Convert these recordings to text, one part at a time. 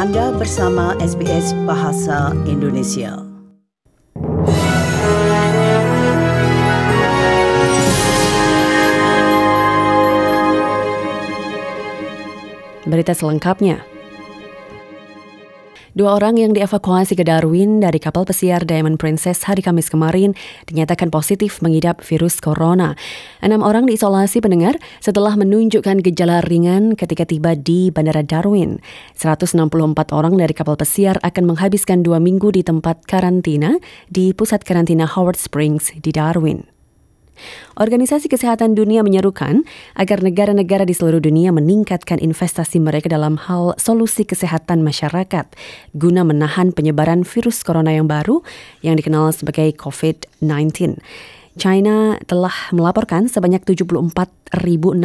Anda bersama SBS Bahasa Indonesia. Berita selengkapnya. 2 orang yang dievakuasi ke Darwin dari kapal pesiar Diamond Princess hari Kamis kemarin dinyatakan positif mengidap virus corona. 6 orang diisolasi pendengar setelah menunjukkan gejala ringan ketika tiba di Bandara Darwin. 164 orang dari kapal pesiar akan menghabiskan 2 minggu di tempat karantina di pusat karantina Howard Springs di Darwin. Organisasi Kesehatan Dunia menyerukan agar negara-negara di seluruh dunia meningkatkan investasi mereka dalam hal solusi kesehatan masyarakat guna menahan penyebaran virus corona yang baru yang dikenal sebagai COVID-19. China telah melaporkan sebanyak 74.675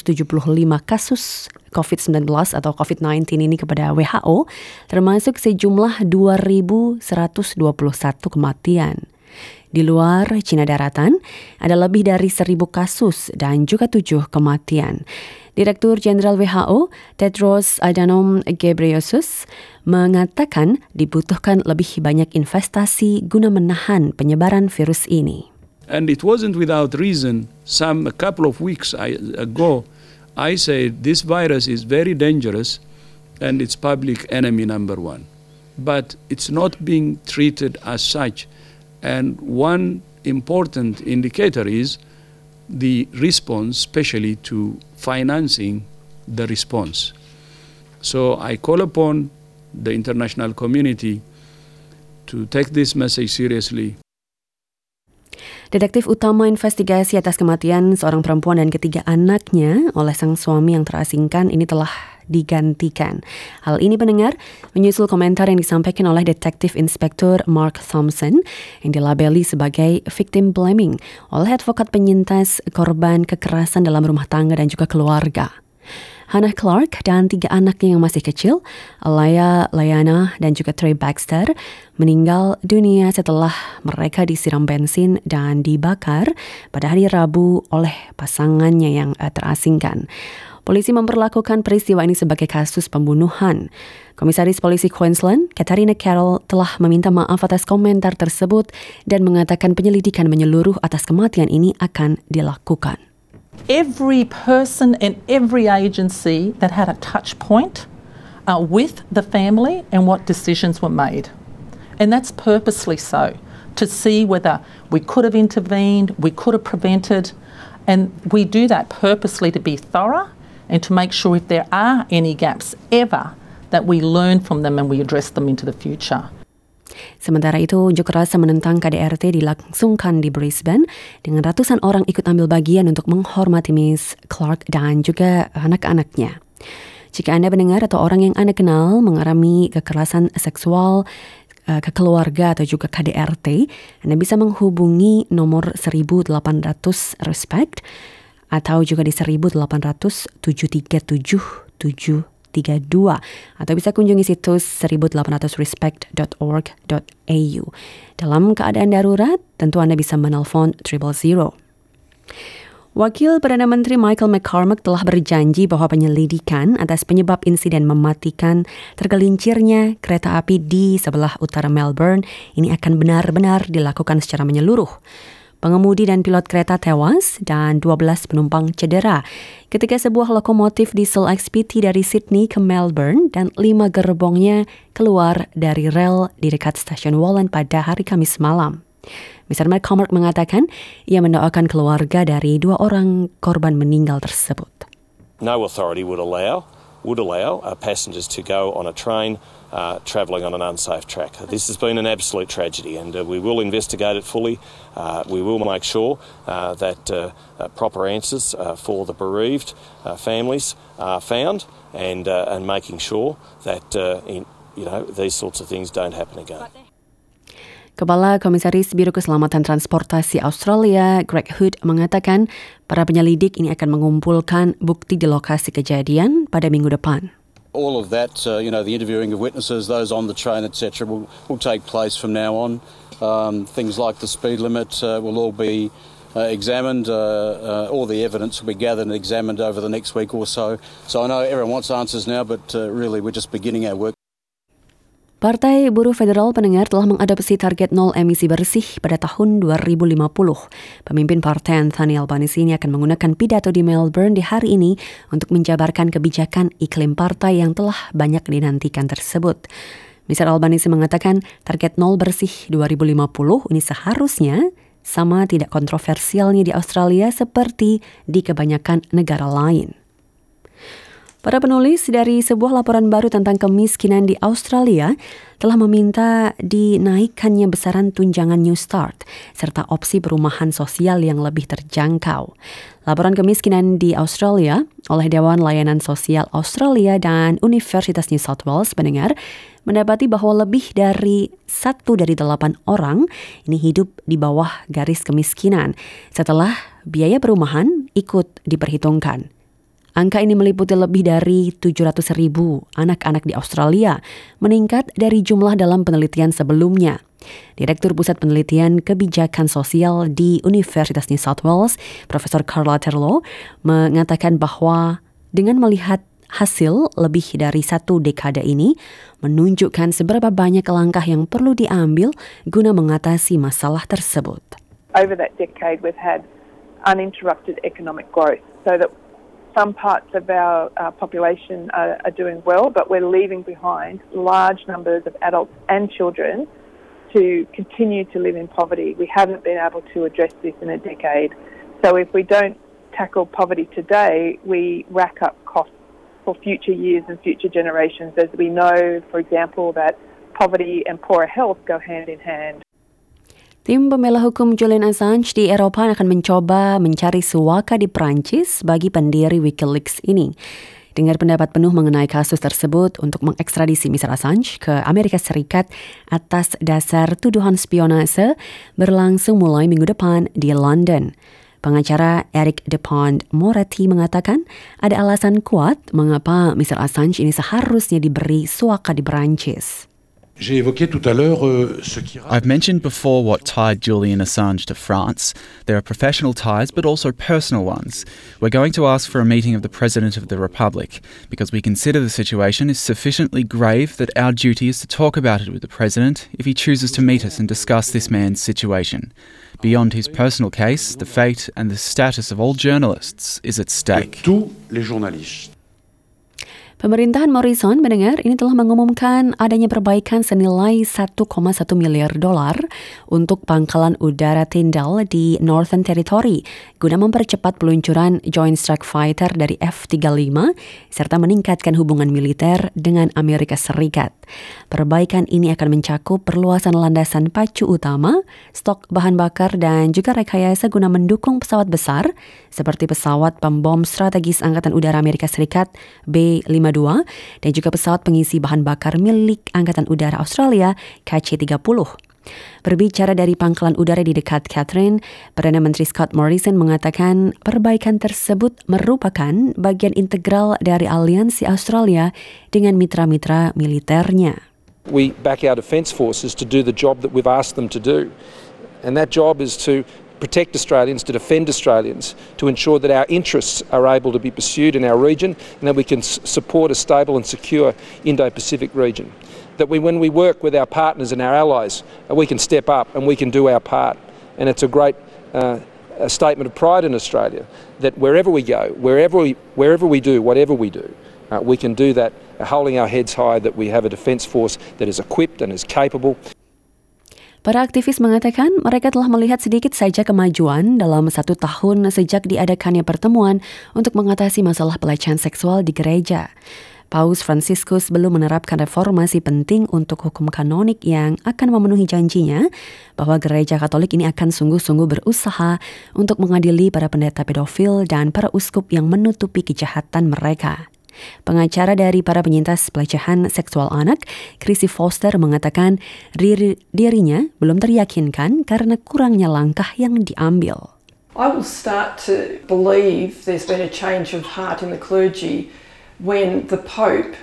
kasus COVID-19 atau COVID-19 ini kepada WHO, termasuk sejumlah 2.121 kematian. Di luar Cina daratan, ada lebih dari 1.000 kasus dan juga 7 kematian. Direktur Jenderal WHO, Tedros Adhanom Ghebreyesus, mengatakan dibutuhkan lebih banyak investasi guna menahan penyebaran virus ini. And it wasn't without reason. A couple of weeks ago, I said this virus is very dangerous and it's public enemy number 1. But it's not being treated as such. And one important indicator is the response, especially to financing the response. So I call upon the international community to take this message seriously. Detektif utama investigasi atas kematian seorang perempuan dan ketiga anaknya oleh sang suami yang terasingkan ini telah digantikan. Hal ini pendengar menyusul komentar yang disampaikan oleh Detektif Inspektur Mark Thompson yang dilabeli sebagai victim blaming oleh advokat penyintas korban kekerasan dalam rumah tangga dan juga keluarga. Hannah Clark dan 3 anaknya yang masih kecil, Alaya, Layana, dan juga Trey Baxter, meninggal dunia setelah mereka disiram bensin dan dibakar pada hari Rabu oleh pasangannya yang terasingkan. Polisi memperlakukan peristiwa ini sebagai kasus pembunuhan. Komisaris Polisi Queensland, Katarina Carroll, telah meminta maaf atas komentar tersebut dan mengatakan penyelidikan menyeluruh atas kematian ini akan dilakukan. Every person and every agency that had a touch point with the family and what decisions were made. And that's purposely so, to see whether we could have intervened, we could have prevented, and we do that purposely to be thorough and to make sure if there are any gaps ever that we learn from them and we address them into the future. Sementara itu, unjuk rasa menentang KDRT dilangsungkan di Brisbane dengan ratusan orang ikut ambil bagian untuk menghormati Miss Clark dan juga anak-anaknya. Jika Anda mendengar atau orang yang Anda kenal mengalami kekerasan seksual ke keluarga atau juga KDRT, Anda bisa menghubungi nomor 1800 RESPECT atau juga di 1800 737 732 atau bisa kunjungi situs 1800respect.org.au. Dalam keadaan darurat, tentu Anda bisa menelpon 000. Wakil Perdana Menteri Michael McCormack telah berjanji bahwa penyelidikan atas penyebab insiden mematikan tergelincirnya kereta api di sebelah utara Melbourne ini akan benar-benar dilakukan secara menyeluruh. Pengemudi dan pilot kereta tewas dan 12 penumpang cedera ketika sebuah lokomotif diesel XPT dari Sydney ke Melbourne dan 5 gerbongnya keluar dari rel di dekat stasiun Wallan pada hari Kamis malam. Mr. McCormack mengatakan ia mendoakan keluarga dari 2 orang korban meninggal tersebut. No authority would allow passengers to go on a train travelling on an unsafe track. This has been an absolute tragedy and we will investigate it fully. We will make sure that proper answers for the bereaved families are found and making sure that these sorts of things don't happen again. Kepala Komisaris Biro Keselamatan Transportasi Australia, Greg Hood, mengatakan para penyelidik ini akan mengumpulkan bukti di lokasi kejadian pada minggu depan. All of that, the interviewing of witnesses, those on the train, etc., will take place from now on. Things like the speed limit will all be examined. All the evidence will be gathered and examined over the next week or so. So I know everyone wants answers now, but really we're just beginning our work. Partai Buruh Federal Pendengar telah mengadopsi target nol emisi bersih pada tahun 2050. Pemimpin partai Anthony Albanese ini akan menggunakan pidato di Melbourne di hari ini untuk menjabarkan kebijakan iklim partai yang telah banyak dinantikan tersebut. Mr. Albanese mengatakan target nol bersih 2050 ini seharusnya sama tidak kontroversialnya di Australia seperti di kebanyakan negara lain. Para penulis dari sebuah laporan baru tentang kemiskinan di Australia telah meminta dinaikkannya besaran tunjangan New Start serta opsi perumahan sosial yang lebih terjangkau. Laporan kemiskinan di Australia oleh Dewan Layanan Sosial Australia dan Universitas New South Wales pendengar mendapati bahwa lebih dari 1 dari 8 orang ini hidup di bawah garis kemiskinan setelah biaya perumahan ikut diperhitungkan. Angka ini meliputi lebih dari 700.000 anak-anak di Australia, meningkat dari jumlah dalam penelitian sebelumnya. Direktur Pusat Penelitian Kebijakan Sosial di Universitas New South Wales, Profesor Carla Terlow, mengatakan bahwa dengan melihat hasil lebih dari 1 dekade ini, menunjukkan seberapa banyak langkah yang perlu diambil guna mengatasi masalah tersebut. Over that decade, we've had uninterrupted economic growth, so that some parts of our population are doing well, but we're leaving behind large numbers of adults and children to continue to live in poverty. We haven't been able to address this in a decade. So if we don't tackle poverty today, we rack up costs for future years and future generations, as we know, for example, that poverty and poorer health go hand in hand. Tim pembela hukum Julian Assange di Eropa akan mencoba mencari suaka di Prancis bagi pendiri Wikileaks ini. Dengar pendapat penuh mengenai kasus tersebut untuk mengekstradisi Mr. Assange ke Amerika Serikat atas dasar tuduhan spionase berlangsung mulai minggu depan di London. Pengacara Eric Dupont-Moretti mengatakan ada alasan kuat mengapa Mr. Assange ini seharusnya diberi suaka di Prancis. I've mentioned before what tied Julian Assange to France. There are professional ties, but also personal ones. We're going to ask for a meeting of the President of the Republic because we consider the situation is sufficiently grave that our duty is to talk about it with the President if he chooses to meet us and discuss this man's situation. Beyond his personal case, the fate and the status of all journalists is at stake. Pemerintahan Morrison mendengar ini telah mengumumkan adanya perbaikan senilai $1,1 miliar untuk pangkalan udara Tyndall di Northern Territory guna mempercepat peluncuran Joint Strike Fighter dari F-35 serta meningkatkan hubungan militer dengan Amerika Serikat. Perbaikan ini akan mencakup perluasan landasan pacu utama, stok bahan bakar dan juga rekayasa guna mendukung pesawat besar seperti pesawat pembom strategis Angkatan Udara Amerika Serikat B-52 dan juga pesawat pengisi bahan bakar milik Angkatan Udara Australia KC-30. Berbicara dari pangkalan udara di dekat Katherine, Perdana Menteri Scott Morrison mengatakan perbaikan tersebut merupakan bagian integral dari aliansi Australia dengan mitra-mitra militernya. We back our defence forces to do the job that we've asked them to do. And that job is to protect Australians, to defend Australians, to ensure that our interests are able to be pursued in our region and that we can support a stable and secure Indo-Pacific region. That when we work with our partners and our allies, we can step up and we can do our part. And it's a great a statement of pride in Australia that wherever we go, wherever we do, whatever we do, we can do that holding our heads high, that we have a defence force that is equipped and is capable. Para aktivis mengatakan mereka telah melihat sedikit saja kemajuan dalam 1 tahun sejak diadakannya pertemuan untuk mengatasi masalah pelecehan seksual di gereja. Paus Franciscus belum menerapkan reformasi penting untuk hukum kanonik yang akan memenuhi janjinya bahwa gereja Katolik ini akan sungguh-sungguh berusaha untuk mengadili para pendeta pedofil dan para uskup yang menutupi kejahatan mereka. Pengacara dari para penyintas pelecehan seksual anak, Chrissy Foster, mengatakan dirinya belum teryakinkan karena kurangnya langkah yang diambil. I will start to believe there's been a change of heart in the clergy when the Pope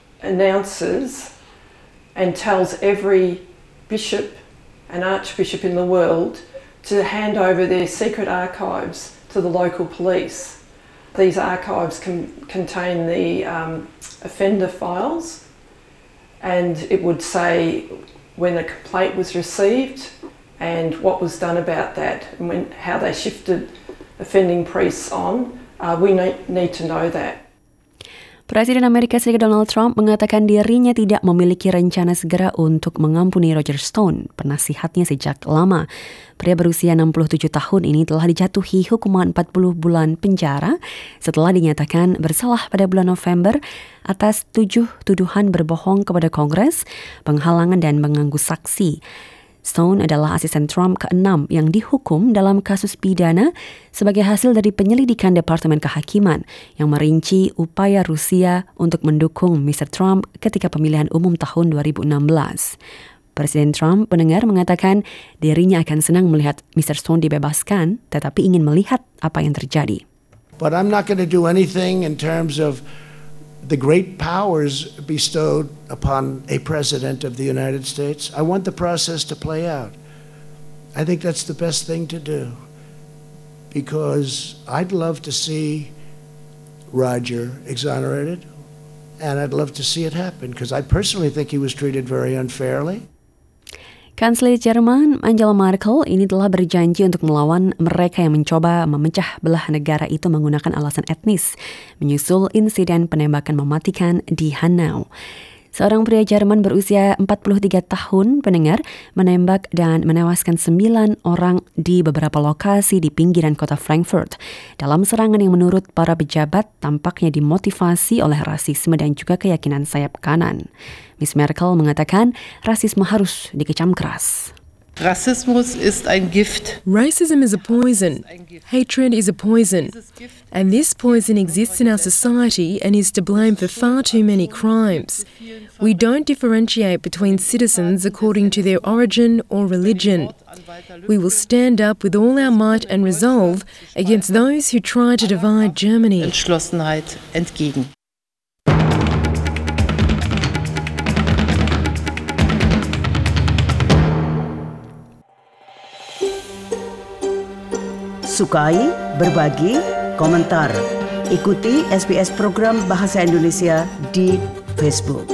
announces and tells every bishop and archbishop in the world to hand over their secret archives to the local police. These archives contain the offender files and it would say when a complaint was received and what was done about that, and how they shifted offending priests on. We need to know that. Presiden Amerika Serikat Donald Trump mengatakan dirinya tidak memiliki rencana segera untuk mengampuni Roger Stone, penasihatnya sejak lama. Pria berusia 67 tahun ini telah dijatuhi hukuman 40 bulan penjara setelah dinyatakan bersalah pada bulan November atas 7 tuduhan berbohong kepada Kongres, penghalangan dan mengganggu saksi. Stone adalah asisten Trump ke-6 yang dihukum dalam kasus pidana sebagai hasil dari penyelidikan Departemen Kehakiman yang merinci upaya Rusia untuk mendukung Mr. Trump ketika pemilihan umum tahun 2016. Presiden Trump mendengar mengatakan dirinya akan senang melihat Mr. Stone dibebaskan, tetapi ingin melihat apa yang terjadi. But I'm not going to do anything in terms of the great powers bestowed upon a president of the United States. I want the process to play out. I think that's the best thing to do, because I'd love to see Roger exonerated, and I'd love to see it happen, because I personally think he was treated very unfairly. Kanselir Jerman Angela Merkel ini telah berjanji untuk melawan mereka yang mencoba memecah belah negara itu menggunakan alasan etnis, menyusul insiden penembakan mematikan di Hanau. Seorang pria Jerman berusia 43 tahun pendengar menembak dan menewaskan 9 orang di beberapa lokasi di pinggiran kota Frankfurt dalam serangan yang menurut para pejabat tampaknya dimotivasi oleh rasisme dan juga keyakinan sayap kanan. Miss Merkel mengatakan rasisme harus dikecam keras. Rassismus ist ein Gift. Racism is a poison. Hatred is a poison. And this poison exists in our society and is to blame for far too many crimes. We don't differentiate between citizens according to their origin or religion. We will stand up with all our might and resolve against those who try to divide Germany. Entschlossenheit entgegen. Sukai, berbagi, komentar. Ikuti SBS program Bahasa Indonesia di Facebook.